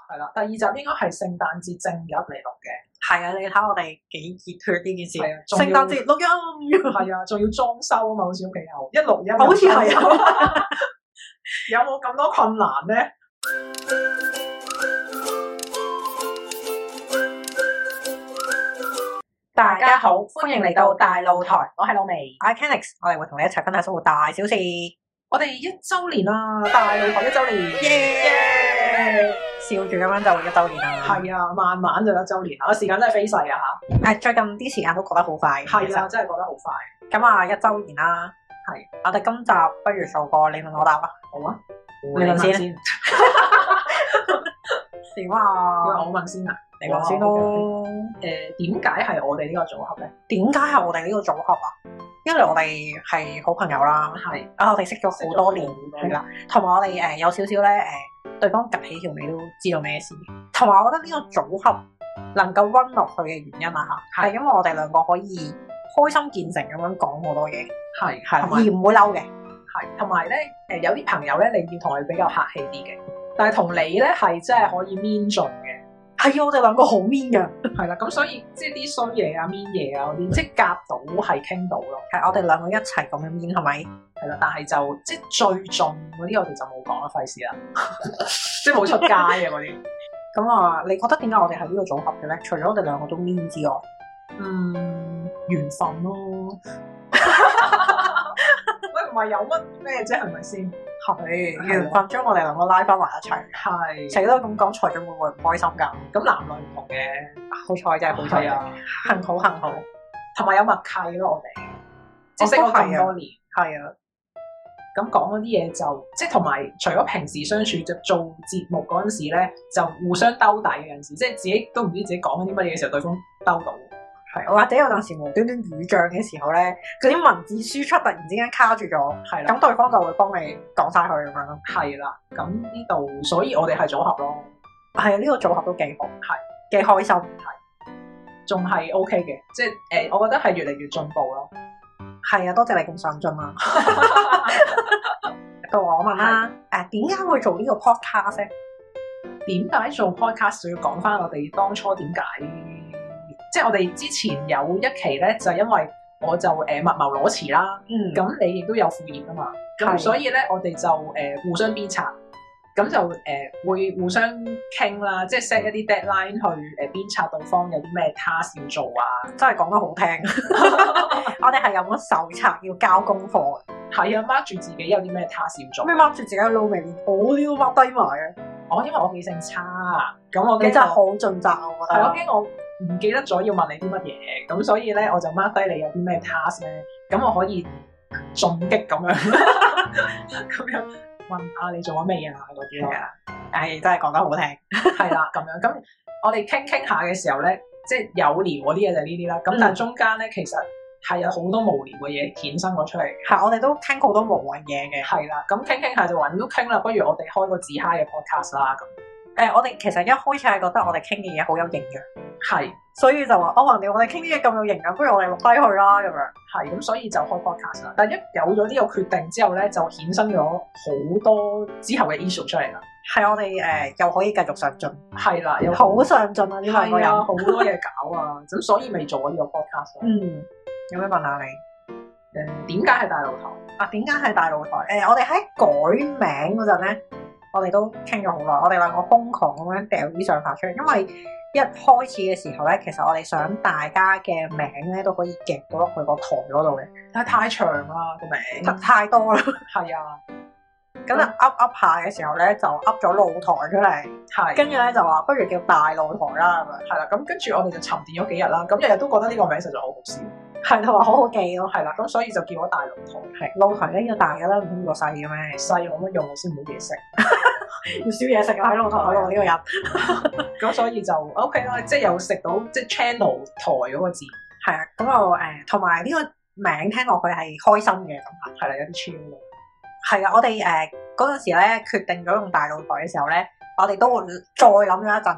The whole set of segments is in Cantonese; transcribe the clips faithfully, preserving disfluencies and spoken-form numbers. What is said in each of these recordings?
係啦，第二集應該係聖誕節正日嚟錄嘅。 係啊，你睇我哋幾熱血呢件事。 係啊， 聖誕節錄音。 係啊，仲要裝修啊嘛，好似屋企有一錄音。 好似係啊。 有冇咁多困難咧？大家好，歡迎嚟到大露台，我係老薇， 我係 Kennix， 我哋會同你一齊分享生活大小事。 我哋一周年啦，大露台一周年，耶、yeah! 笑住咁樣就一周年啦。 係啊，慢慢就一周年啦，時間真係飛逝啊吓。 誒，最近啲時間都過得好快。 係啊，真係過得好快。 咁啊，一周年啦，係是我哋今集不如做個你問我答啊。好啊，你問先。點啊？ 我問先啊。 你問先咯。 誒，點解係我哋呢個組合咧？ 點解係我哋呢個組合啊？因為我哋係好朋友啦，係啊，我哋識咗好多年係啦，同埋我哋誒有少少咧誒，對方夾起條尾都知道咩事。同埋我覺得呢個組合能夠 run 落去嘅原因啊嚇，係因為我哋兩個可以開心見誠咁樣講好多嘢，係係而唔會嬲嘅， 係同埋咧誒有啲朋友咧，你要同佢比較客氣啲嘅，但係同你咧係真係可以 mean 盡嘅。 係啊，我哋兩個好 mean 㗎， 係啦，咁所以即係啲衰嘢啊、mean 嘢啊嗰啲，即係夾到係傾到咯。 係我哋兩個一齊咁樣 mean 係咪？ 係啦，但係就即係最盡嗰啲，我哋就冇講啦，費事啦，即係冇出街嘅嗰啲。 咁啊，你覺得點解我哋係呢個組合嘅咧？除咗我哋兩個都 mean 之外， 嗯，緣分咯。喂，唔係有乜咩啫？係咪先？ 係緣分將我哋兩個拉翻埋一齊， 係成日都咁講，財長會唔會唔開心㗎？ 咁男女唔同嘅， 好彩真係好彩啊！幸好幸好， 同埋有默契咯，我哋即係識咗咁多年，係啊。咁講嗰啲嘢就即係同埋，除咗平時相處，就做節目嗰陣時咧，就互相兜底嘅陣時，即係自己都唔知自己講緊啲乜嘢嘅時候，對方兜到。 係，或者有陣時無端端語障嘅時候咧，嗰啲文字輸出突然之間卡住咗，係啦，咁對方就會幫你講晒佢咁樣咯。係啦，咁呢度，所以我哋係組合咯。係啊，呢個組合都幾好，係幾開心，係，仲係 OK 嘅，即係誒、呃，我覺得係越嚟越進步咯。係啊，多謝你咁上進啊！到我問啦，誒點解會做呢個 podcast 咧？點解做 podcast 要講翻我哋當初點解？即係我哋之前有一期咧，就係、因為我就誒、呃、密謀裸辭啦，咁、嗯、你亦都有副業啊嘛，咁的所以咧我哋就誒、呃、互相鞭策，咁就誒、呃、會互相傾啦，即係 set 一啲 deadline 去誒鞭策對方有啲咩 task 要做啊，真係講得好聽。我哋係有冇手冊要交功課嘅？係啊，mark 住自己有啲咩 task 要做。咩 mark 住自己嘅路未？我都要 mark 低埋嘅。哦，因為我記性差，咁我你真係好盡責啊！我覺得係我驚我唔記得咗要問你啲乜嘢，咁所以咧我就 mark 低你有啲咩 task 咧，咁我可以進擊咁樣，咁樣問下你做咗咩啊嗰啲啊，唉真係講得好聽，係啦咁樣，咁我哋傾傾下嘅時候咧，即係有聊嗰啲嘢就係呢啲啦，咁但係中間咧其實係有好多無聊嘅嘢衍生咗出嚟，係我哋都傾好多無謂嘢嘅，係啦，咁傾傾下就話都傾啦，不如我哋開個自嗨嘅 podcast 啦咁。誒、呃，我哋其實一開始係覺得我哋傾嘅嘢好有營養，係，所以就話哦，橫掂我哋傾啲嘢咁有營養，不如我哋錄低佢啦咁樣，係，咁所以就開 podcast 啦。但係一有咗呢個決定之後咧，就衍生咗好多之後嘅 issue 出嚟啦。係我哋誒、呃、又可以繼續上進，係啦，又好上進啊！呢兩個人好多嘢搞啊，咁所以咪做咗呢個 podcast 咯。嗯，有咩問下你？誒，點解係大露台？啊，點解係大露台？誒、呃，我哋喺改名嗰陣咧。我哋都傾咗好耐，我哋兩個瘋狂咁樣掉啲想法出嚟，因為一開始嘅時候咧，其實我哋想大家嘅名咧都可以夾到落去個台嗰度嘅，但係太長啦個名，太多啦，係啊，咁啊噏噏下嘅時候咧就噏咗露台出嚟，係，跟住咧就話不如叫大露台啦咁樣，係啦，咁跟住我哋就沉澱咗幾日啦，咁日日都覺得呢個名實在好好笑。係同埋好好記咯，係啦，咁所以就叫咗大露台。係露台咧要大嘅啦，唔通個細嘅咩？細有乜用？先冇嘢食，要少嘢食啊！喺露台度呢個人，咁所以就 OK 啦，即係有食到即係 channel 台嗰個字。係啊，咁我誒同埋呢個名聽落去係開心嘅咁啊，係啦，有啲 chill 咯。係啊，我哋誒嗰陣時咧決定咗用大露台嘅時候咧，我哋都會再諗咗一陣嘅。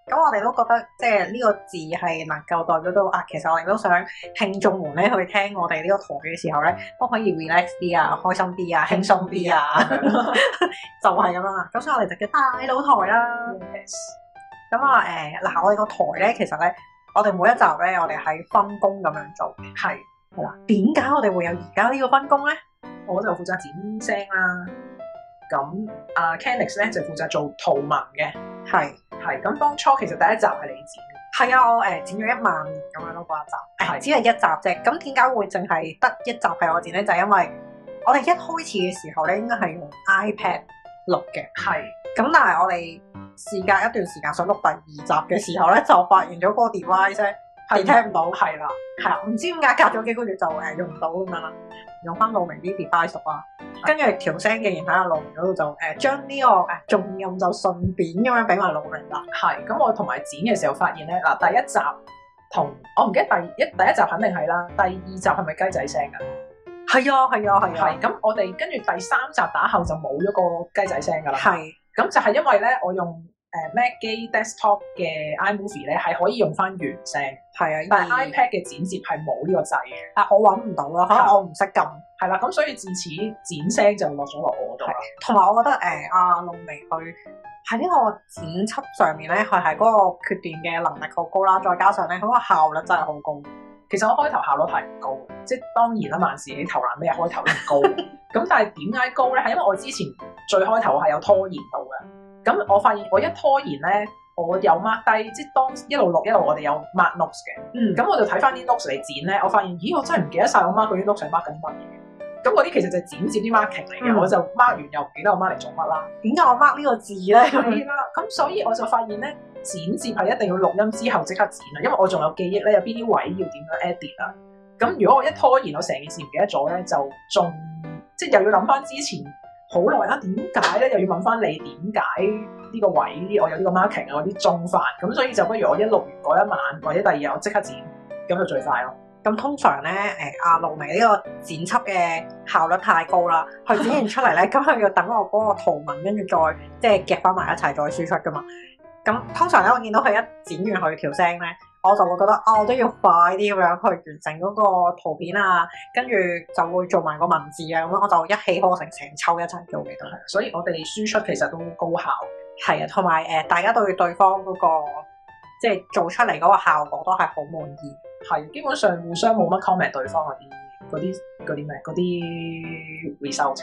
咁我哋都覺得即係呢個字係能夠代表到啊，其實我哋都想聽眾們咧去聽我哋呢個台嘅時候咧，都可以 relax 啲啊，開心啲啊，輕鬆啲啊，就係咁樣啦。咁所以我哋就叫大佬台啦。咁啊誒嗱，我哋個台咧其實咧，我哋每一集咧，我哋係分工咁樣做嘅。係係啦。點解我哋會有而家呢個分工咧？ 我就負責剪聲啦。咁啊 Canix 咧就負責做圖文嘅。係。係，咁當初其實第一集係你剪嘅。 係啊，我誒剪咗一萬咁樣咯，嗰一集。係，只係一集啫。咁點解會淨係得一集係我剪咧？就係因為我哋一開始嘅時候咧，應該係用 iPad 錄嘅。係。咁但係我哋事隔一段時間想錄第二集嘅時候咧，就發現咗嗰個 device 咧係聽唔到。係啦。係啊，唔知點解隔咗幾個月就誒用唔到咁樣啦。用翻露明啲 device 啊，跟住調聲嘅，然後喺露明嗰度就誒將呢個誒重音就順便咁樣俾埋露明啦。係，咁我同埋剪嘅時候發現咧，嗱第一集同我唔記得第一第一集肯定係啦，第二集係咪雞仔聲㗎？係啊係啊係啊。係，咁我哋跟住第三集打後就冇咗個雞仔聲㗎啦。係，咁就係因為咧，我用誒 Mac 機 desktop 嘅 iMovie 咧係可以用翻原聲。係啊，但係 iPad 嘅剪接係冇呢個掣嘅，啊我揾唔到啦，可能我唔識撳，係啦，咁所以自此剪聲就落咗落我度啦。同埋我覺得誒阿露明佢喺呢個剪輯上面咧，佢係嗰個決斷嘅能力好高啦，再加上咧佢個效率真係好高。其實我開頭效率係唔高，即係當然啦，萬事起頭難，咩開頭都唔高。咁但係點解高咧？係因為我之前最開頭係有拖延到嘅，咁我發現我一拖延咧。我有 mark 低，即係當一路錄一路，我哋有 mark notes 嘅。嗯，咁我就睇翻啲 notes 嚟剪咧，我發現，咦，我真係唔記得晒我 mark 嗰啲 notes 係 mark 緊啲乜嘢。咁嗰啲其實就係剪接啲 marking 嚟嘅，嗯、我就 mark 完又唔記得我 mark 嚟做乜啦。點解我 mark 呢個字咧？係啦，咁所以我就發現咧，剪接係一定要錄音之後即刻剪啊，因為我仲有記憶咧，有邊啲位要點樣 edit 啊。咁如果我一拖延，我成件事唔記得咗咧，就仲即係又要諗翻之前。好耐啦，點解咧？又要問翻你點解呢個位我有呢個 marking 啊，我啲中飯咁，所以就不如我一錄完嗰一晚或者第二日我即刻剪，咁就最快咯。咁通常咧，誒阿露明呢個剪輯嘅效率太高啦，佢剪完出嚟咧，咁佢要等我嗰個圖文跟住再即係夾翻埋一齊再輸出噶嘛。咁通常咧，我見到佢一剪完佢條聲咧。我就會覺得啊，我都要快啲咁樣去完成嗰個圖片啊，跟住就會做埋個文字啊，咁樣我就一氣呵成成抽一齊做嘅都係。所以我哋輸出其實都高效。係啊，同埋誒，大家對對方嗰個即係做出嚟嗰個效果都係好滿意。係，基本上互相冇乜 comment 對方嗰啲嗰啲嗰啲咩嗰啲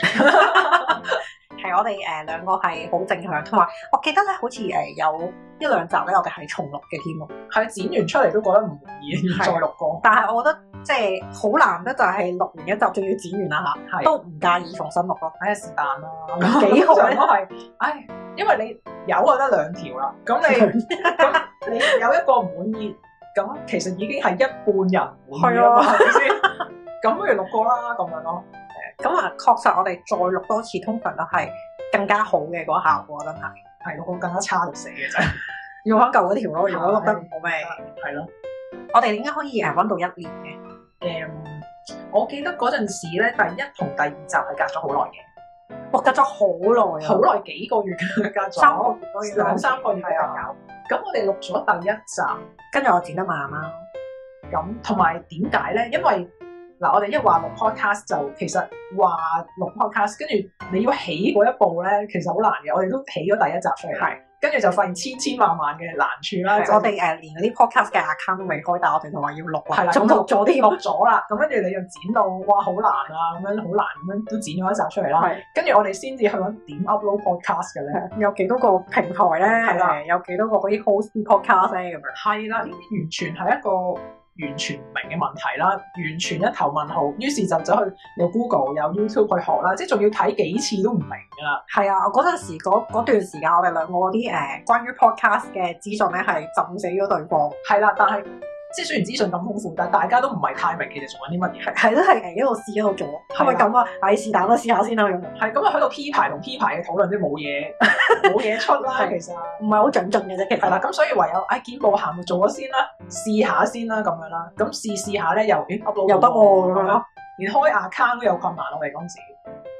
result。係我哋誒兩個係好正向，同埋我記得咧，好似誒有一兩集咧，我哋係重錄嘅添喎。係剪完出嚟都覺得唔滿意，要再錄過。但係我覺得即係好難得，就係錄完一集仲要剪完啦嚇，都唔介意重新錄咯。唉，是但啦，幾好咧都係。唉，因為你有就得兩條啦，咁你咁你有一個唔滿意，咁其實已經係一半人滿意啦嘛，係咪先？咁不如錄過啦，咁樣咯。咁啊，確實我哋再錄多次，通常都係更加好嘅嗰個效果，真係係咯，更加差到死嘅啫。要翻舊嗰條咯，如果錄得唔好咩？係咯。我哋點解可以誒揾到一年嘅？誒、嗯，我記得嗰陣時咧，第一同第二集係隔咗好耐嘅。我隔咗好耐啊！好耐幾個月嘅，隔咗三個月，兩三個月係啊。咁我哋錄咗第一集，跟住我剪得慢啦。咁同埋點解咧？因為嗱，我哋一話錄 podcast 就其實話錄 podcast，跟住你要起嗰一步咧，其實好難嘅。我哋都起咗第一集出嚟，係跟住就發現千千萬萬嘅難處啦。的就我哋誒連嗰啲 podcast 嘅 account 都未開，但係我哋就話要錄啦，係啦，咁錄咗啲錄咗啦。咁跟住你又剪到哇好難啊，咁樣好難咁樣都剪咗一集出嚟啦。跟住的我哋先至去揾點 upload podcast 嘅咧，有幾多個平台咧？係啦的，有幾多個嗰啲 host podcast 咧咁樣。係啦，呢啲完全係一個完全唔明嘅問題啦，完全一頭問號，於是就走去有 Google 有 YouTube 去學啦，即係仲要睇幾次都唔明㗎啦。係啊，我嗰陣時嗰段時間，我哋兩個嗰啲誒關於 podcast 嘅資訊咧係浸死咗對方。係啦，但係即係雖然資訊咁豐富，但係大家都唔係太明其實做緊啲乜嘢。係都係誒一路試一路做，係咪咁啊？唉，是但啦，試下先啦咁。係咁啊，喺度 P 牌同 P 牌嘅討論都冇嘢冇嘢出啦，其實唔係好長進嘅啫。其實係啦，咁所以唯有唉見步行步做咗先啦，試下先啦咁樣啦。咁試試下咧又誒 upload 又得喎咁樣咯，連開 account 都有困難咯，我哋嗰陣時。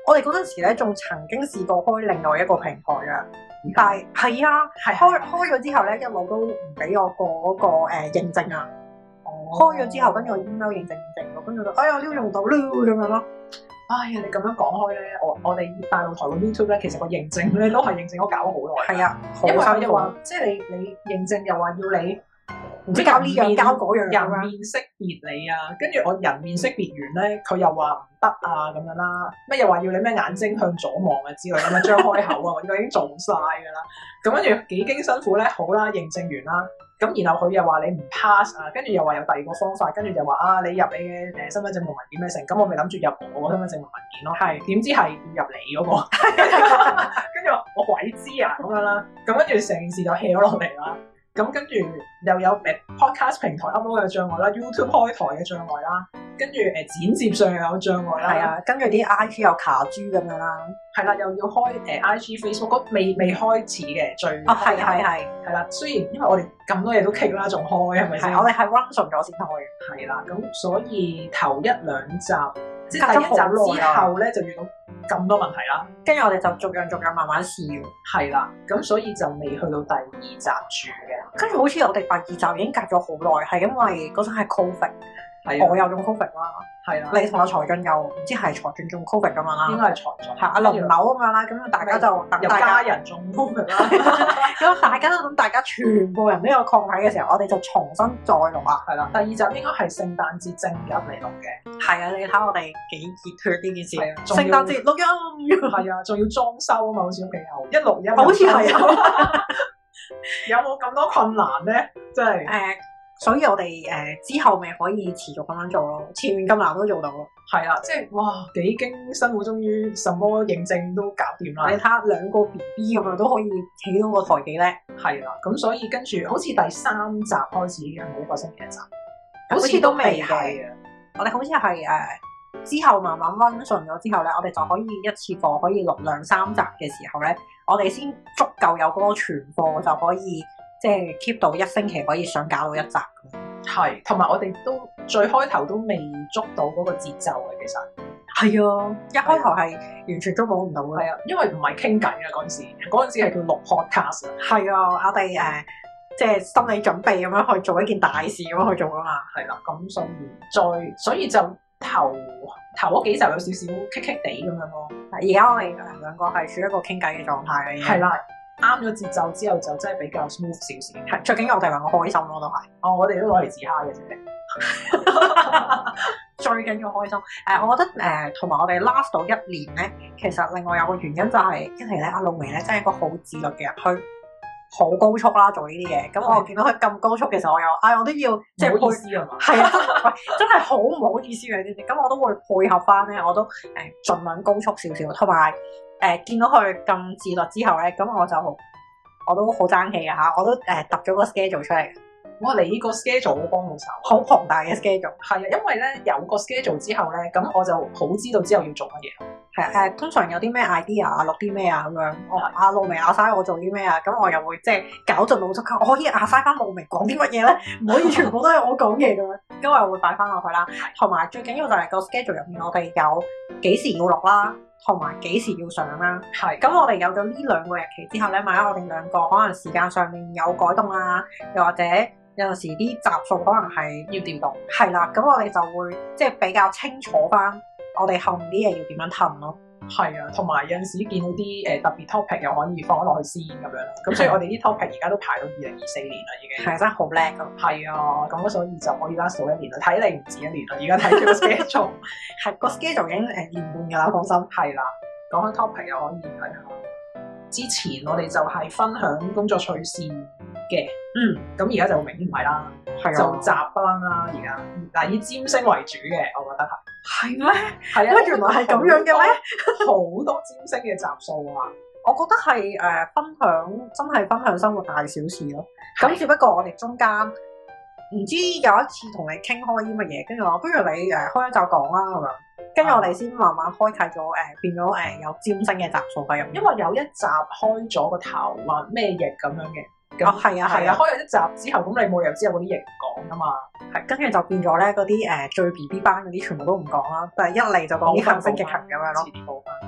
我哋嗰陣時咧，仲曾經試過開另外一個平台嘅，但係係啊，係開開咗之後咧，一路都唔俾我過嗰個誒認證啊。開咗之後，跟住我 email 認證認證，跟住就哎呀，呢個用唔到啦咁樣咯。 哎呀，你咁樣講開咧，我我哋大陸台個 YouTube 咧，其實個認證咧都係認證我搞咗好耐。 係啊， 因為佢又話，即係你你認證又話要你。唔知交呢樣交嗰樣， 人面識別你啊，跟住我人面識別完咧，佢又話唔得啊咁樣啦，咩又話要你咩眼睛向左望啊之類咁樣張開口啊，我呢個已經做晒噶啦，咁跟住幾經辛苦咧，好啦，認證完啦，咁然後佢又話你唔 pass 啊，跟住又話有第二個方法，跟住就話啊你入你嘅誒身份證文件咩成，咁我咪諗住入我個身份證文件咯，係點知係要入你嗰個，跟住我鬼知啊咁樣啦，咁跟住成件事就 hea 咗落嚟啦。咁跟住又有誒 podcast 平台 upload 嘅障礙啦 ，YouTube 開台嘅障礙啦，跟住誒剪接上又有障礙啦，係啊， 跟住啲 I G 又卡豬咁樣啦， 係啦，又要開誒 I G Facebook 未未開始嘅最啊係係係係啦，雖然因為我哋咁多嘢都傾啦，仲開係咪先？ 我哋係 run 順咗先開嘅， 係啦，咁所以頭一兩集即係第一集之後咧就遇到咁多問題啦， 跟住我哋就逐樣逐樣慢慢試， 係啦，咁所以就未去到第二集住嘅。 跟住好似我哋第二集已經隔咗好耐，係因為嗰陣係 Covid，係我有中 Covid 啦，係啦，你同阿財俊又唔知係財俊中 Covid 咁樣啦， 應該係財俊， 係阿輪流咁樣啦，咁大家就有家人中 Covid 啦， 咁大家都等大家全部人都有抗體嘅時候，我哋就重新再錄啦， 係啦，第二集應該係聖誕節正日嚟錄嘅， 係啊，你睇我哋幾熱血呢件事，聖誕節錄音， 係啊，仲要裝修啊嘛，好似屋企有一錄音， 好似係啊。 有冇咁多困難咧？即係誒，所以我哋誒、呃、之後咪可以持續咁樣做咯。前面咁難都做到咯。係啦，即係哇，幾經辛苦，終於什麼認證都搞掂啦。 你睇下兩個 B B 咁樣都可以起到個台幾叻。 係啦，咁所以跟住好似第三集開始係咪一個星期一集？ 好似都未係啊。我哋好似係誒之後慢慢溫順咗之後咧，我哋就可以一次過可以錄兩三集嘅時候咧。我哋先足夠有嗰個存貨，就可以即係 keep 到一星期可以想搞到一集咁。係， 同埋我哋都最開頭都未捉到嗰個節奏嘅，其實係啊，一開頭係完全捉摸唔到嘅。 係啊，因為唔係傾偈啊嗰陣時，嗰陣時係叫錄 podcast 啊。 係啊，我哋誒即係心理準備咁樣去做一件大事咁樣去做啊嘛。 係啦，咁所以再所以就頭頭嗰幾集有少少棘棘地咁樣咯。 而家我哋兩個係處於一個傾偈嘅狀態嘅， 係啦，啱咗節奏之後就真係比較 smooth 少少。 係最緊要我哋兩個開心咯，都係。 哦，我哋都攞嚟自嗨嘅啫。 最緊要開心。誒、呃，我覺得誒，同、呃、埋我哋 last 到一年咧，其實另外有個原因就係、是，一嚟咧，阿露媚咧真係一個好自律嘅人，佢好高速啦做呢啲嘢。咁我見到佢咁高速，其實我又，唉、哎，我都要即係唔好意思啊嘛。 係啊，真係好唔好意思嘅呢啲。咁我都會配合翻咧，我都誒盡量高速少少，同埋誒見到佢咁自律之後咧，咁我就我都好爭氣嘅嚇，我都誒揼咗個 schedule 出嚟。 哇！你個 schedule 好幫到手， 好龐大嘅 schedule。 係啊，因為咧有個 schedule 之後咧，咁我就好知道之後要做乜嘢。 係誒，通常有啲咩 idea 啊，錄啲咩啊咁樣。我阿露媚阿曬我做啲咩啊，咁我又會即係搞盡腦汁，我可以阿曬翻露媚講啲乜嘢咧？唔可以全部都係我講嘢咁樣，咁我又會擺翻落去啦。同埋最緊要就係個 schedule 入面，我哋有幾時要錄啦，同埋幾時要上啦。係。咁我哋有咗呢兩個日期之後咧，萬一我哋兩個可能時間上面有改動啊，又或者有陣時啲集數可能係要調動，係啦，咁我哋就會即係比較清楚翻我哋後面啲嘢要點樣褪咯。 係啊，同埋有陣時見到啲誒特別 topic 又可以放咗落去先咁樣，咁所以我哋啲 topic 而家都排到二零二四年啦，已經係真係好叻噶。係啊，咁所以就可以 last 到一年啦，睇你唔止一年啦，而家睇住個 schedule，係個 schedule 已經誒年半噶啦，放心。係啦，講開 topic 又可以睇下。之前我哋就係分享工作趣事嘅，嗯，咁而家就明顯唔係啦，係就雜班啦，而家嗱以占星為主嘅，我覺得係。係咩？係啊，原來係咁樣嘅咩？好多占星嘅集數啊！我覺得係誒、呃、分享，真係分享生活大小事咯。咁只不過我哋中間唔知有一次同你傾開啲乜嘢，跟住話不如你誒、呃、開一集講啦咁樣。跟住我哋先慢慢開啟咗誒、呃，變咗誒、呃、有占星嘅集數喺入面。因為有一集開咗個頭話咩翼咁樣嘅。哦，係啊，係啊，開咗一集之後，咁你冇理由之後嗰啲嘢唔講噶嘛？係，跟住就變咗咧，嗰啲誒最 B B 班嗰啲全部都唔講啦，但係一嚟就講啲行星逆行咁樣咯。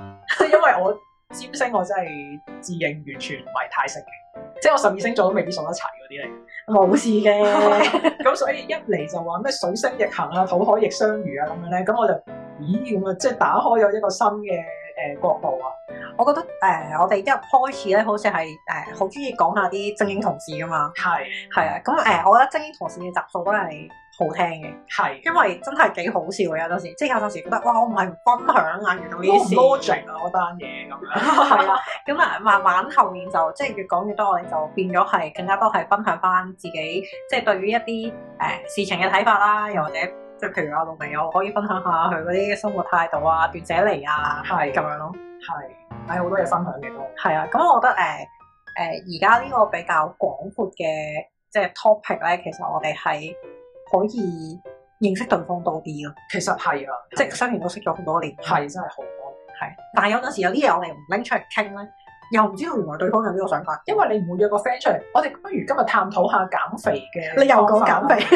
即係因為我占星我真係自認完全唔係太識嘅，即係我十二星座都未必數得齊嗰啲嚟。 冇事嘅， 咁所以一嚟就話咩水星逆行啊、土海逆相遇啊咁樣咧，咁我就咦咁啊，即係打開咗一個新嘅誒、呃、角度啊！ 我覺得誒、呃，我哋一入開始咧，好似係誒好中意講下啲精英同事噶嘛，係係啊，咁誒、呃，我覺得精英同事嘅集數都係好聽嘅，係因為真係幾好笑嘅，有陣時即係有陣時覺得哇，我唔係唔分享啊，遇到呢啲事 logic 啊嗰單嘢咁樣， 係啦，咁啊慢慢後面就即係越講越多，我哋就變咗係更加多係分享翻自己即係對於一啲誒、呃、事情嘅睇法啦，又或者即係譬如阿露媚又可以分享下佢嗰啲生活態度啊、斷捨離啊，係咁樣咯，係係好多嘢分享嘅都係啊，咁我覺得誒誒而家呢個比較廣闊嘅即係 topic 咧，其實我哋係可以認識對方多啲咯。 其實係啊， 即係雖然都識咗好多年， 係真係好多年， 係。但係有陣時有啲嘢我哋唔拎出嚟傾咧，又唔知道原來對方有呢個想法。 因為你唔會約個 friend 出嚟，我哋不如今日探討下減肥嘅。 你又講減肥，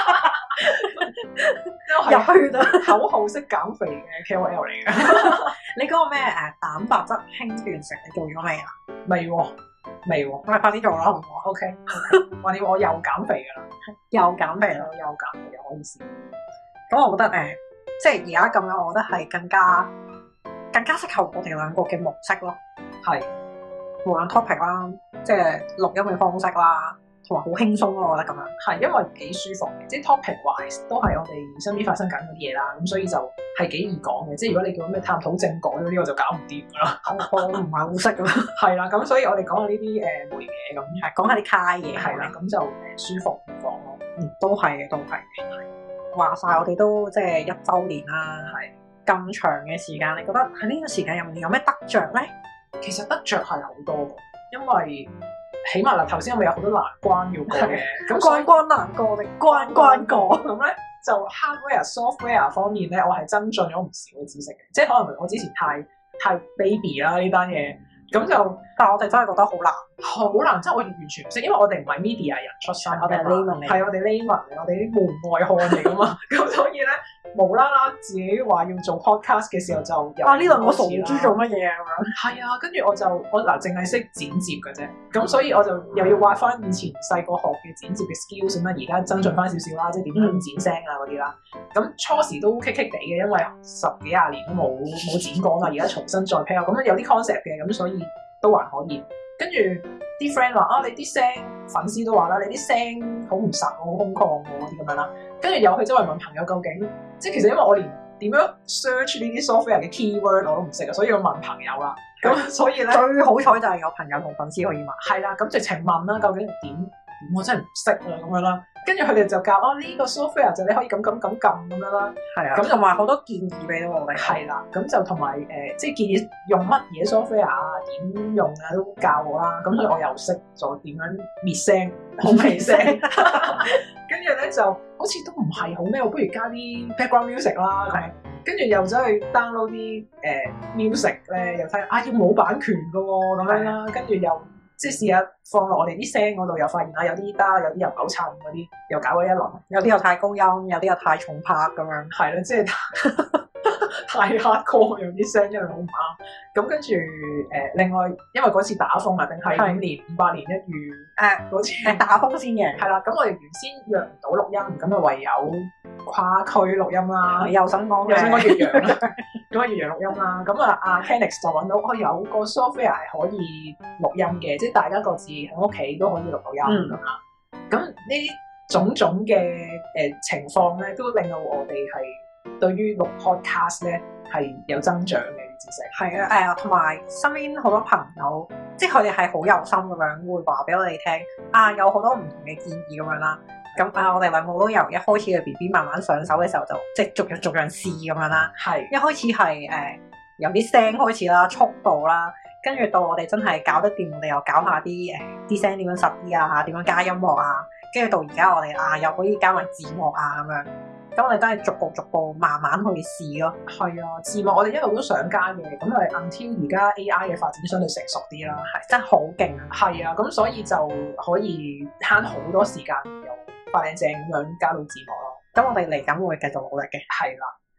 入去啦， 口號式減肥嘅 K O L 嚟嘅。 你嗰個咩誒蛋白質輕斷食，你做咗未啊？ 未喎。未喎， 咁咪快啲做啦，好唔好 ？O K，話你我又減肥噶啦， 又減肥啦， 又減肥又可以試。 咁我覺得誒、呃，即係而家咁樣，我覺得係更加更加適合我哋兩個嘅模式咯。係，無論 topic 啦，即係錄音嘅方式啦，同埋好輕鬆咯，我覺得咁樣。係，因為幾舒服嘅，即係 topic wise 都係我哋身邊發生緊嗰啲嘢啦，咁所以就係幾易講嘅。即係如果你叫咩探討政改嗰啲，我就搞唔掂噶啦。我唔係好識㗎啦。係啦，咁所以我哋講下呢啲誒冇嘢咁，係講下啲卡嘢，係啦，咁就誒舒服啲講咯。嗯，都係嘅，都係嘅。話晒我哋都即係一週年啦，係咁長嘅時間，你覺得喺呢個時間入面有咩得着咧？其實得着係好多嘅，因為起碼嗱，頭先我咪有好多難關要過嘅，咁關關難過定關關過咁咧，就 hardware、software 方面咧，我係增進咗唔少嘅知識嘅，即係可能我之前太太 baby 啦呢單嘢，咁就但係我哋真係覺得好難，好難，即係我哋完全唔識，因為我哋唔係 media 人出身，我哋係 layman 嚟，係我哋 layman 嚟，我哋啲門外漢嚟噶嘛，咁所以咧無啦啦自己話要做 podcast 嘅時候就啊呢輪我傻豬做乜嘢啊咁樣，係啊，跟住我就我嗱淨係識剪接嘅啫，咁所以我就又要挖翻以前細個學嘅剪接嘅 skills 咁啦，而家增進翻少少啦，即係點樣剪聲啊嗰啲啦，咁初時都棘棘地嘅，因為十幾廿年都冇冇剪過嘛，而家重新再 pair 咁有啲 concept 嘅，咁所以都還可以。跟住啲 friend 話啊，你啲聲粉絲都話啦，你啲聲好唔實，好空曠嗰啲咁樣啦。跟住又去周圍問朋友究竟，即係其實因為我連點樣 search 呢啲 software 嘅 keyword 我都唔識啊，所以我問朋友啦。咁所以咧最好彩就係有朋友同粉絲可以問。係啦，咁直情問啦，究竟點點我真係唔識啊咁樣啦。跟住佢哋就教啊呢、這個 software 就你可以咁咁咁撳咁樣啦。係啊，咁同埋好多建議俾到我哋。係啦，咁就同埋誒，即係建議用乜嘢 software 啊，點用啊都教我啦。咁所以我又識咗點樣滅聲、空氣聲。跟住咧就好似都唔係好咩，我不如加啲 background music 啦。係。跟住又走去 download 啲誒、呃、music 咧，又睇啊要冇版權噶喎咁樣啦。跟住又。即係試下放落我哋啲聲嗰度，又發現啊有啲得，有啲又唔好襯嗰啲，又搞咗一輪。有啲又太高音，有啲又太重拍咁樣。係咯，即係太 hardcore，有啲聲真係好唔啱。咁跟住誒，另外因為嗰次打風啊，定係五年五百年一遇誒嗰次係打風先嘅。係啦，咁我哋原先約唔到錄音，咁啊唯有跨區錄音啦。又想講又想講越洋啦，咁啊越洋錄音啦。咁啊阿 Kenix 就揾到我有個 software 係可以錄音嘅，即係大家各自喺屋企都可以錄到音咁啊。咁呢啲種種嘅誒情況咧，都令到我哋係對於錄 podcast 咧係有增長嘅知識。係啊，誒同埋身邊好多朋友，即係佢哋係好有心咁樣會話俾我哋聽啊，有好多唔同嘅建議咁樣啦。咁啊，我哋兩個都由一開始嘅 B B 慢慢上手嘅時候就，就即係逐樣逐樣試咁樣啦。係一開始係誒、呃、由啲聲開始啦，速度啦，跟住到我哋真係搞得掂，我哋又搞下啲誒啲聲點樣實啲啊，點樣加音樂啊，跟住到而家我哋啊又可以加埋字幕啊咁樣。咁我哋都係逐步逐步慢慢去試咯。係啊，字幕我哋一路都想加嘅，咁係 until 而家 A I 嘅發展相對成熟啲啦，係真係好勁啊！係啊，咁所以就可以慳好多時間，又快靚正咁樣加到字幕咯。咁我哋嚟緊會繼續努力嘅。係啦，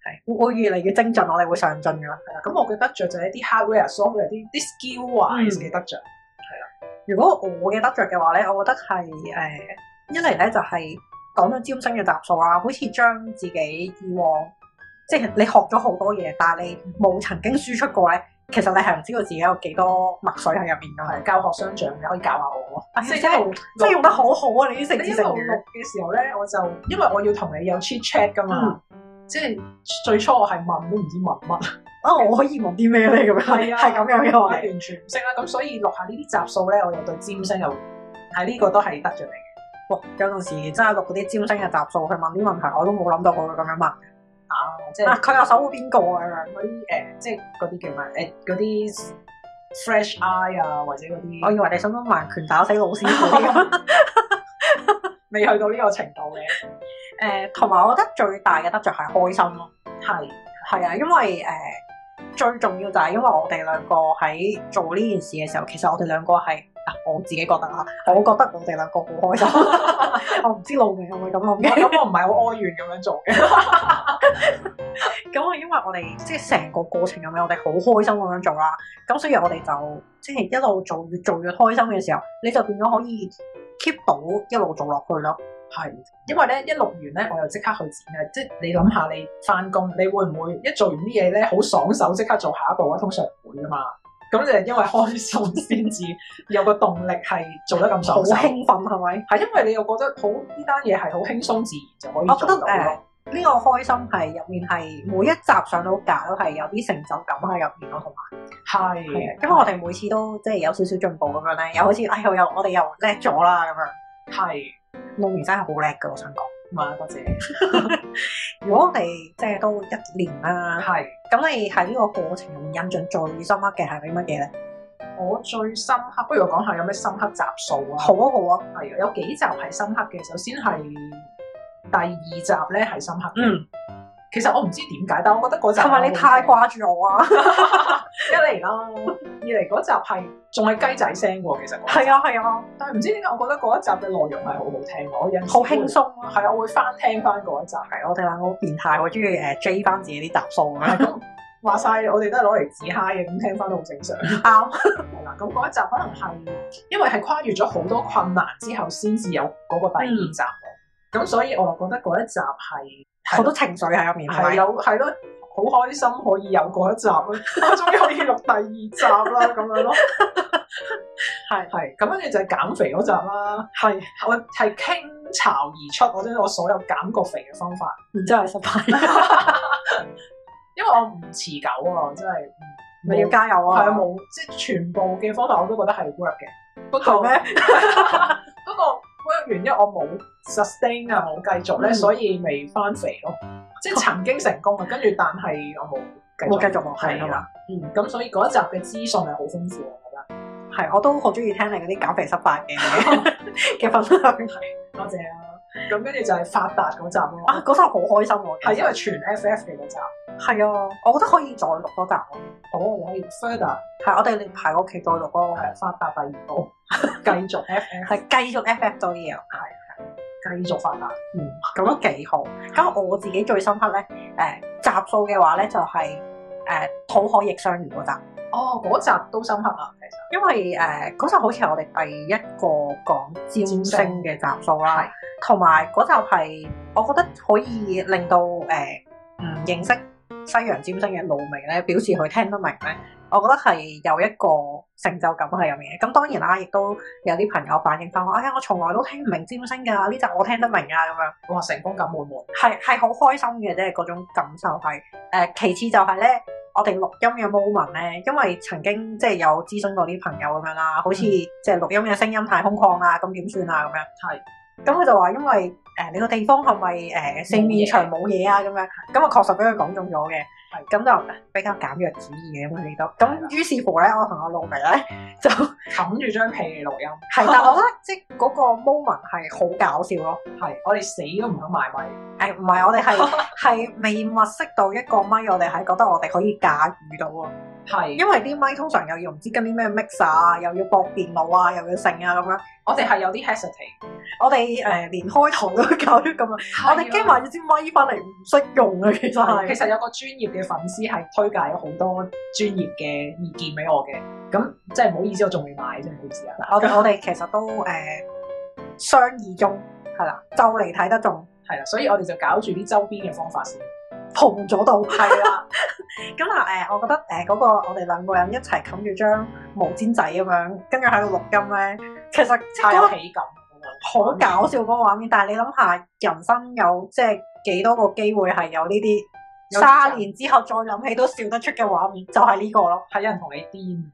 係會越嚟越精進，我哋會上進㗎啦。 係啦，咁我嘅得着就係一啲 hardware、software 啲啲 skill wise 嘅得着。係啦、 嗯，如果我嘅得着嘅話咧，我覺得係誒、呃、一嚟咧就係講到占星嘅集數啦，好似將自己以往即係你學咗好多嘢，但係你冇曾經輸出過咧。其實你係唔知道自己有幾多墨水喺入邊㗎嘛？教學相長，你可以教下我。哎、即係一路，即係用得好好啊！你啲成字成語。錄嘅時候咧，我就因為我要同你有 chit chat 㗎嘛，嗯、即係最初我係問都唔知問乜啊！我可以問啲咩咧？咁樣係啊，係咁樣嘅話，完全唔識啦。咁所以錄下呢啲集數咧，我又對占星又係呢個都係得著嚟嘅。哇！有陣時真係錄嗰啲占星嘅集數去問啲問題，我都冇諗到我會咁樣問。啊！即係佢又守護邊個啊？嗰啲誒，即係嗰啲叫咩？誒嗰啲 fresh eye 啊，或者嗰啲，我以為你想講盲拳打死老師嗰啲，未去到呢個程度嘅。誒、呃，同埋我覺得最大嘅得着係開心咯。係係啊，因為誒、呃、最重要就係因為我哋兩個喺做呢件事嘅時候，其實我哋兩個係。我自己覺得啊，我覺得我哋兩個好開心。我唔知路明係咪咁諗嘅，咁我唔係好哀怨咁樣做嘅。咁啊，因為我哋即係成個過程入面，我哋好開心咁樣做啦。咁所以我哋就即係一路做，越做越開心嘅時候，你就變咗可以 keep 到一路做落去咯。係，因為咧一錄完咧，我又即刻去剪嘅。即係你諗下，你翻工，你會唔會一做完啲嘢咧，好爽手，即刻做下一步啊？通常唔會噶嘛。咁就係因為開心先至有個動力係做得咁爽手，好興奮係咪？係因為你又覺得好呢單嘢係好輕鬆自然就可以做到咯。我覺得誒呢、呃呢個開心係入面係每一集上到架都係有啲成就感喺入面咯，同埋係因為我哋每次都即係有少少進步咁樣咧，又好似哎又我哋又叻咗啦咁樣。係露媚真係好叻㗎，我想講。嘛，多謝。如果我哋即係都一年啦，係咁，你喺呢個過程入面印象最深刻嘅係啲乜嘢咧？我最深刻，不如我講下有咩深刻集數啊？好啊，好啊，係啊，有幾集係深刻嘅。首先係第二集咧係深刻嘅。嗯，其實我唔知點解，但我覺得嗰集係咪你太掛住我啊？一嚟啦，二嚟嗰集係仲係雞仔聲喎，其實係啊係啊，但係唔知點解，我覺得嗰一集嘅內容係好好聽，我有好輕鬆啊，係啊，我會翻聽翻嗰一集，係我哋兩個好變態，我中意誒追翻自己啲集數咁樣。話晒我哋都係攞嚟自嗨嘅，咁聽翻都好正常。啱係啦，咁嗰一集可能係因為係跨越咗好多困難之後，先至有嗰個第二集，咁、嗯、所以我就覺得嗰一集係好多情緒喺入面，係有係咯。好開心可以有嗰一集咯，我終於可以錄第二集啦，咁樣咯。係係，咁跟住就係減肥嗰集啦。係，我係傾巢而出，我將我所有減過肥嘅方法，然之後係失敗。因為我唔持久啊，真係。你要加油啊！係啊，冇即係全部嘅方法我都覺得係 work 嘅。不過咩？不過 work 完，因為我冇 sustain 啊，冇繼續咧，嗯、所以未翻肥咯。即係曾經成功啊，跟住但係我冇冇繼續落去啊嘛。嗯，咁所以嗰一集嘅資訊係好豐富，我覺得係，我都好中意聽你嗰啲減肥失敗嘅嘅分享。係，多謝啊。咁跟住就係發達嗰集咯。啊，嗰集好開心喎，係因為全 F F 嘅嗰集。係啊，我覺得可以再錄多集咯。好，我哋可以 further。係，我哋連排個期再錄咯。係發達第二部，繼續 F F，係繼續 F F 多啲嘢。係。繼續發達，嗯，咁都幾好。咁我自己最深刻咧，誒、呃、集數嘅話咧就係誒土海逆相遇嗰集。哦，嗰集都深刻啊，其實。因為誒嗰、呃、集好似係我哋第一個講占星嘅集數啦，同埋嗰集係我覺得可以令到誒唔、呃、認識西洋占星嘅露媚咧表示佢聽得明咧。我覺得係有一個成就感喺入面嘅，咁當然啦，亦都有啲朋友反映翻話，哎呀，我從來都聽唔明占星㗎，呢集我聽得明啊，咁樣，哇，成功感滿滿，係係好開心嘅，即係嗰種感受係。誒、呃，其次就係咧，我哋錄音嘅 moment 咧，因為曾經即係有諮詢過啲朋友咁樣啦，好似即係錄音嘅聲音太空曠啦，咁點算啊？咁樣，係，咁佢就話因為誒、呃、你個地方係咪誒四面牆冇嘢啊？咁樣，咁啊確實俾佢講中咗嘅。咁就比較簡約主義嘅咁佢哋都，咁於是乎咧，我同阿露媚咧就冚住張被嚟錄音。係，但係我覺得即係嗰個 moment 係好搞笑咯。係，我哋死都唔肯埋咪。誒，唔係，我哋係係未物色到一個咪，我哋係覺得我哋可以駕馭到啊。 係， 因為啲咪通常又要唔知跟啲咩 mix 啊，又要駁電腦啊，又要剩啊咁樣。 我哋係有啲 hesitate， 我哋誒、呃、連開堂都搞咗咁樣，我哋驚買咗支咪翻嚟唔識用啊，其實係。 其實有個專業嘅粉絲係推介咗好多專業嘅意見俾我嘅，咁即係唔好意思，我仲未買，真係唔好意思啊。 我哋我哋其實都誒、呃、商議中，係啦，就嚟睇得中， 係啦，所以我哋就搞住啲周邊嘅方法先。 紅咗到， 係啦。 咁嗱誒，我覺得誒嗰、呃那個我哋兩個人一齊冚住張毛氈仔咁樣，跟住喺度錄音咧，其實太有喜感， 好搞笑嗰個畫面。但係你諗下，人生有即係幾多個機會係有呢啲卅年之後再諗起都笑得出嘅畫面，就係、是、呢個咯。 係有人同你癲，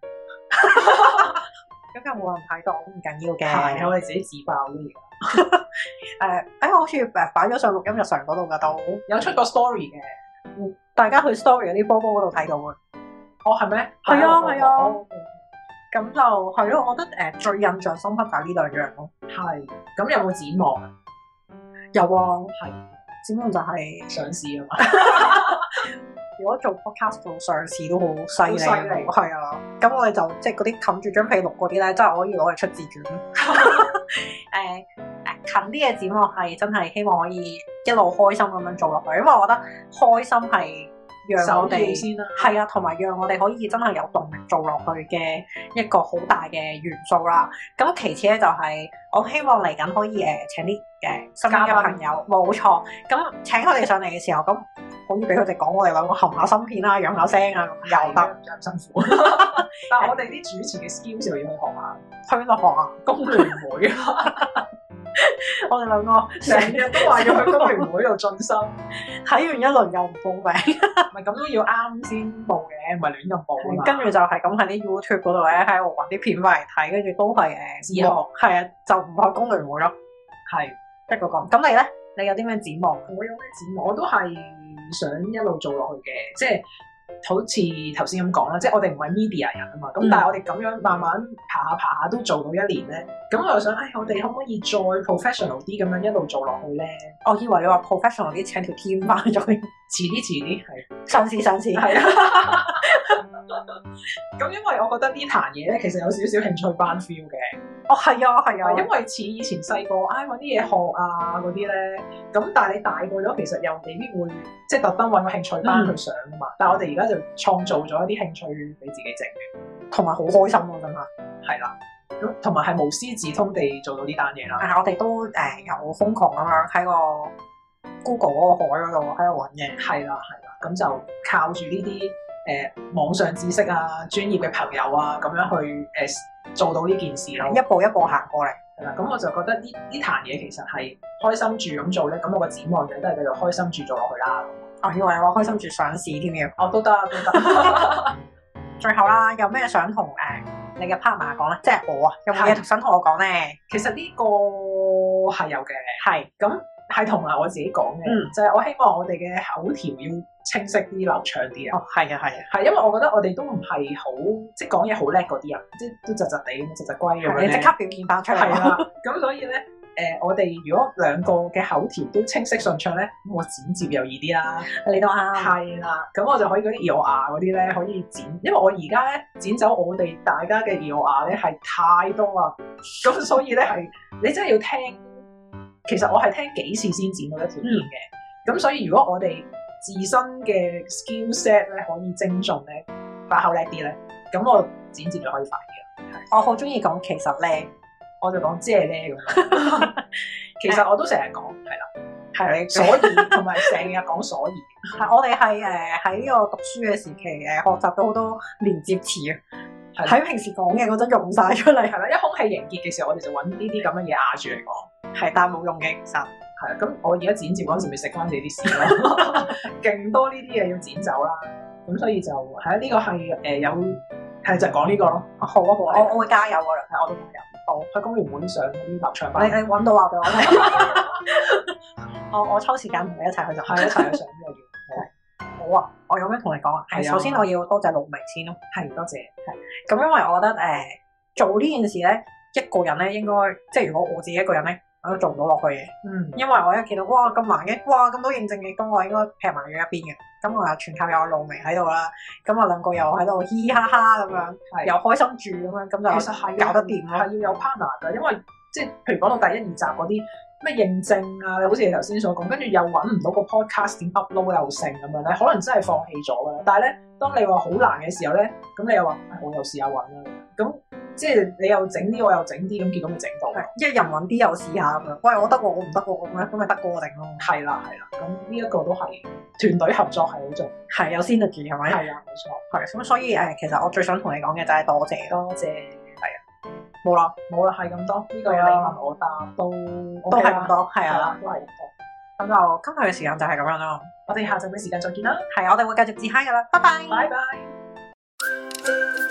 咁又冇人睇到，唔緊要嘅。 係我哋自己自爆啲嘢。 誒，哎，我好似誒擺咗上錄音日常嗰度噶，都有出過 story 嘅， 嗯，大家去 story 嗰啲波波嗰度睇到嘅。 哦，係咩？ 係啊，係啊。咁就係咯，我覺得誒最印象深刻就係呢兩樣咯。 係，咁有冇展望啊？ 有啊， 係展望就係上市啊嘛。 如果做 podcast 做上市都好犀利， 好犀利， 係啊。咁我哋就即係嗰啲冚住張被錄嗰啲咧，真係可以攞嚟出自傳。誒誒、呃呃，近啲嘅展望係真係希望可以一路開心咁樣做落去，因為我覺得開心係讓我哋先啦， 係啊，同埋讓我哋可以真係有動力做落去嘅一個好大嘅元素啦。咁其次咧就係、是、我希望嚟緊可以誒、呃、請啲誒、呃、新嘅朋友，冇錯。咁請佢哋上嚟嘅時候咁。可以俾佢哋講我哋兩個含下芯片啊、養下聲啊，咁又得， 唔咁辛苦。但係我哋啲主持嘅 skills 又要去學下， 去邊度學啊？ 工聯會啊！ 我哋兩個成日都話要去工聯會度進修， 睇完一輪又唔報名， 唔係咁都要啱先報嘅，唔係亂咁報啊嘛。 跟住就係咁喺啲 YouTube 嗰度咧，喺度揾啲片翻嚟睇，跟住都係誒自學， 係啊，就唔去工聯會咯。 係一個講，咁你咧？你有啲咩展望？ 我有咩展望？我都係想一路做落去嘅，即係好似頭先咁講啦，即係我哋唔係 media 人啊嘛，咁、嗯、但係我哋咁樣慢慢爬下爬下都做到一年咧，咁我又想，唉，我哋可唔可以再 professional 啲咁樣一路做落去咧？ 我以為你話 professional 啲請條 team 翻咗， 遲啲遲啲係上次上次係啊。 咁因為我覺得呢壇嘢咧，其實有少少興趣班 feel 嘅。 哦，係啊，係啊， 因為似以前細個，唉，揾啲嘢學啊嗰啲咧，咁但係你大個咗，其實又未必會即係特登揾個興趣班去上啊嘛。嗯、但係我哋而家就創造咗一啲興趣俾自己整嘅， 同埋好開心咯，真係。 係啦，咁同埋係無師自通地做到呢單嘢啦。 啊，我哋都誒、呃、有瘋狂咁樣喺個 Google 嗰個海嗰度喺度揾嘅。 係啦，係啦，咁就靠住呢啲誒網上知識啊、專業嘅朋友啊，咁樣去誒。呃做到呢件事咯， 一步一步行過嚟， 係啦。咁我就覺得呢呢壇嘢其實係開心住咁做咧，咁我個展望就都係繼續開心住做落去啦。 我以為你話開心住上市添嘅， 哦都得都得。 最後啦，有咩想同誒你嘅 partner 講咧？即係我啊，有冇嘢想同我講咧？ 其實呢個係有嘅， 係咁係同埋我自己講嘅，嗯、就係我希望我哋嘅口條要清晰啲、流暢啲啊！ 哦，係啊，係啊， 係因為我覺得我哋都唔係好即係講嘢好叻嗰啲人，即係都窒窒地咁，窒窒龜咁樣。 你即刻表現翻出嚟啦！咁所以咧，誒、呃，我哋如果兩個嘅口條都清晰順暢咧，咁我剪接又易啲啦。 你都啱。係啦，咁我就可以嗰啲耳牙嗰啲咧可以剪，因為我而家咧剪走我哋大家嘅耳牙咧係太多啦，咁所以咧係你真係要聽。其實我係聽幾次先剪到一條片嘅，咁、嗯、所以如果我哋自身嘅 skill set 咧可以精進咧，把口叻啲咧，咁我剪接就可以快啲啦。 我好中意講其實咧， 我就講即係咧咁。其實我都成日講係啦，係你所以同埋成日講所以。 係我哋係誒喺呢個讀書嘅時期誒學習咗好多連接詞啊，喺平時講嘅嗰陣用晒出嚟。係啦， 一空氣凝結嘅時候，我哋就揾呢啲咁嘅嘢壓住嚟講。 係，但係冇用嘅，其實係啊。咁我而家剪接嗰陣時，咪食翻自己啲屎咯，勁多呢啲嘢要剪走啦。咁所以就係啊，呢、這個係誒、呃、有係就講呢個咯。 好啊好啊，我我會加油噶啦， 係我都加油。好，去工聯會上嗰啲流暢班。 你你揾到話俾我聽。我我抽時間同你一齊去就係一齊去上呢個月。好啊，我有咩同你講啊？係首先我要多謝陸明先咯。係多謝。係咁，因為我覺得誒、呃、做呢件事咧。一個人咧應該，即係如果我自己一個人咧， 我都做唔到落去嘅。嗯，因為我一見到哇咁難嘅，哇咁多認證嘅，咁我應該劈埋咗一邊嘅。咁我又全靠有露媚喺度啦，咁啊兩個又喺度嘻嘻哈哈咁樣，又開心住咁樣，咁就其實係搞得掂咯。係要有 partner 㗎，因為即係譬如講到第一二集嗰啲咩認證啊，好似你頭先所講，跟住又揾唔到個 podcast 點 upload 又成咁樣咧，可能真係放棄咗㗎啦。但係咧，當你話好難嘅時候咧，咁你又話我又試下揾啦，咁。即係你又整啲，我又整啲，咁結果咪整到。 一人揾啲又試下咁樣。喂，我得喎，我唔得喎，咁樣咁咪得過我定咯。 係啦，係啦。咁呢一個都係團隊合作係好重要。 係有 synergy 係咪？係啊，冇錯。係咁，所以誒，其實我最想同你講嘅就係多謝， 多謝。 係啊，冇啦， 冇啦，係咁多。呢個你問我答都都係咁多，係啊， 都係咁多。 咁就今日嘅時間就係咁樣啦。 我哋下集嘅時間再見啦。 係，我哋會繼續自嗨㗎啦。拜拜。 拜拜。